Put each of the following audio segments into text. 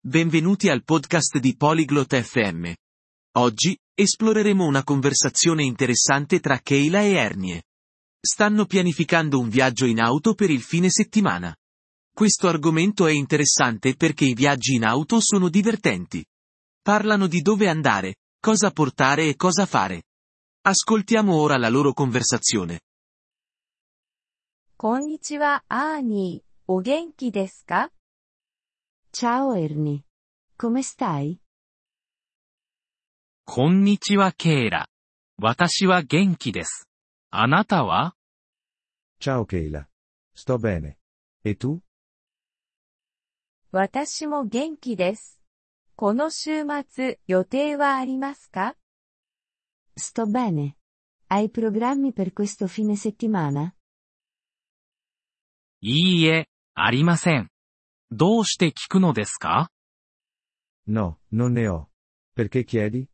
Benvenuti al podcast di Polyglot FM. Oggi, esploreremo una conversazione interessante tra Kayla e Ernie. Stanno pianificando un viaggio in auto per il fine settimana. Questo argomento è interessante perché i viaggi in auto sono divertenti. Parlano di dove andare, cosa portare e cosa fare. Ascoltiamo ora la loro conversazione. こんにちは、アーニー。お元気ですか？ Ciao Ernie. Come stai? こんにちはケイラ。私は元気です。あなたは？ Ciao Kayla. Sto bene. E tu? 私も元気です。この週末、予定はありますか？ Sto bene. Hai programmi per questo fine settimana? いいえ、ありません。どうして聞くのですか？ No, non ne ho. Perché chiedi?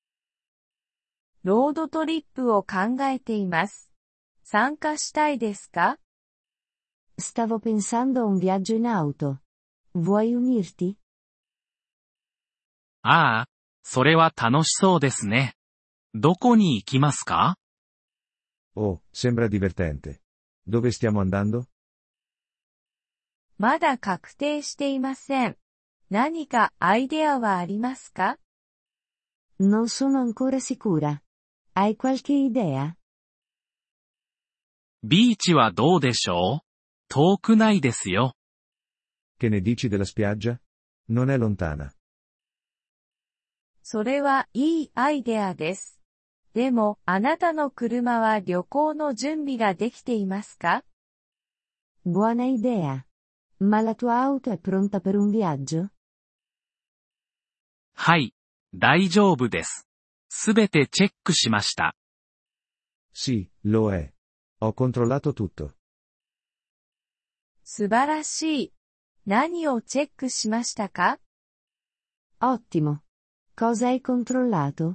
ロードトリップを考えています。参加したいですか？ Stavo pensando a un viaggio in auto. Vuoi unirti? ああ、それは楽しそうですね。どこに行きますか？ Oh, sembra divertente. Dove stiamo andando? まだ確定していません。何かアイデアはありますか？ Non sono ancora sicura. Hai qualche idea? ビーチはどうでしょう？遠くないですよ。 Che ne dici della spiaggia? Non è lontana. それはいいアイデアです。でも、あなたの車は旅行の準備ができていますか？ Buona idea. Ma la tua auto è pronta per un viaggio? はい、大丈夫です。すべてチェックしました。 Sì, lo è. Ho controllato tutto. 素晴らしい。何をチェックしましたか？ Ottimo. Cosa hai controllato?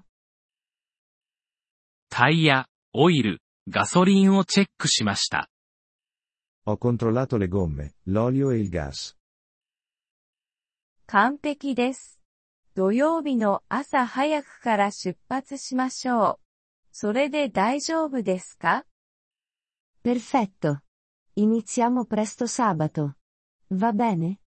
タイヤ、オイル、ガソリンをチェックしました。 Ho controllato le gomme, l'olio e il gas. 完璧です。土曜日の朝早くから出発しましょう。それで大丈夫ですか？ Perfetto. Iniziamo presto sabato. Va bene?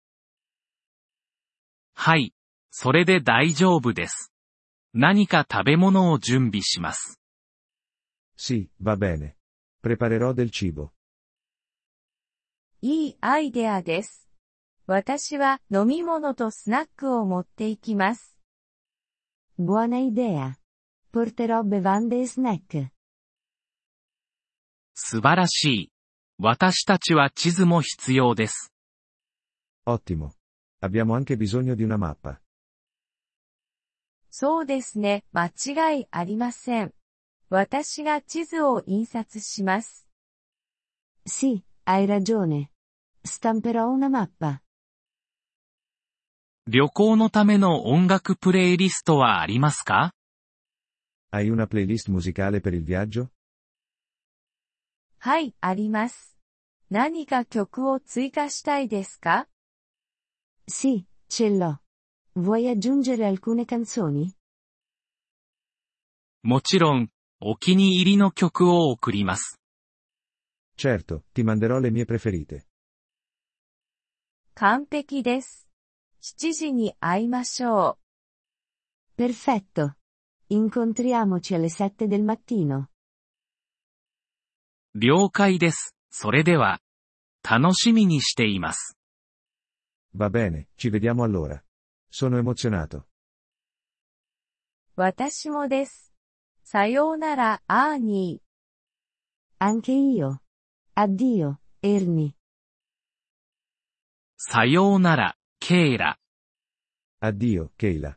はい、それで大丈夫です。何か食べ物を準備します。 Sì, va bene. Preparerò del cibo. いいアイデアです。私は飲み物とスナックを持っていきます。 Buona idea. Porterò bevande e snack. 素晴らしい。私たちは地図も必要です。 Ottimo. Abbiamo anche bisogno di una mappa. そうですね、間違いありません。私が地図を印刷します。 Sì, hai ragione. Stamperò una mappa. 旅行のための音楽プレイリストはありますか？ Hai una playlist musicale per il viaggio? はい、あります。何か曲を追加したいですか？ Sì, ce l'ho. Vuoi aggiungere alcune canzoni? もちろん、お気に入りの曲を送ります。 Certo, ti manderò le mie preferite. 完璧です。7時に会いましょう。 Perfetto. Incontriamoci alle 7 del mattino. 了解です。それでは、楽しみにしています。 Va bene, ci vediamo allora. Sono emozionato. 私もです。さようなら、アーニー。 Anche io. Addio, Ernie. さようなら、ケイラ。 Addio, Kayla.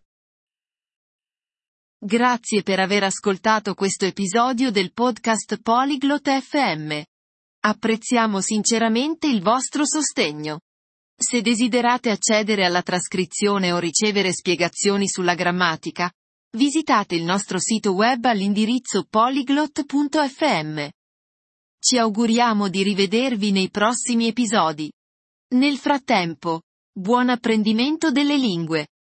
Grazie per aver ascoltato questo episodio del podcast Polyglot FM. Apprezziamo sinceramente il vostro sostegno. Se desiderate accedere alla trascrizione o ricevere spiegazioni sulla grammatica, visitate il nostro sito web all'indirizzo polyglot.fm. Ci auguriamo di rivedervi nei prossimi episodi. Nel frattempo, Buon apprendimento delle lingue!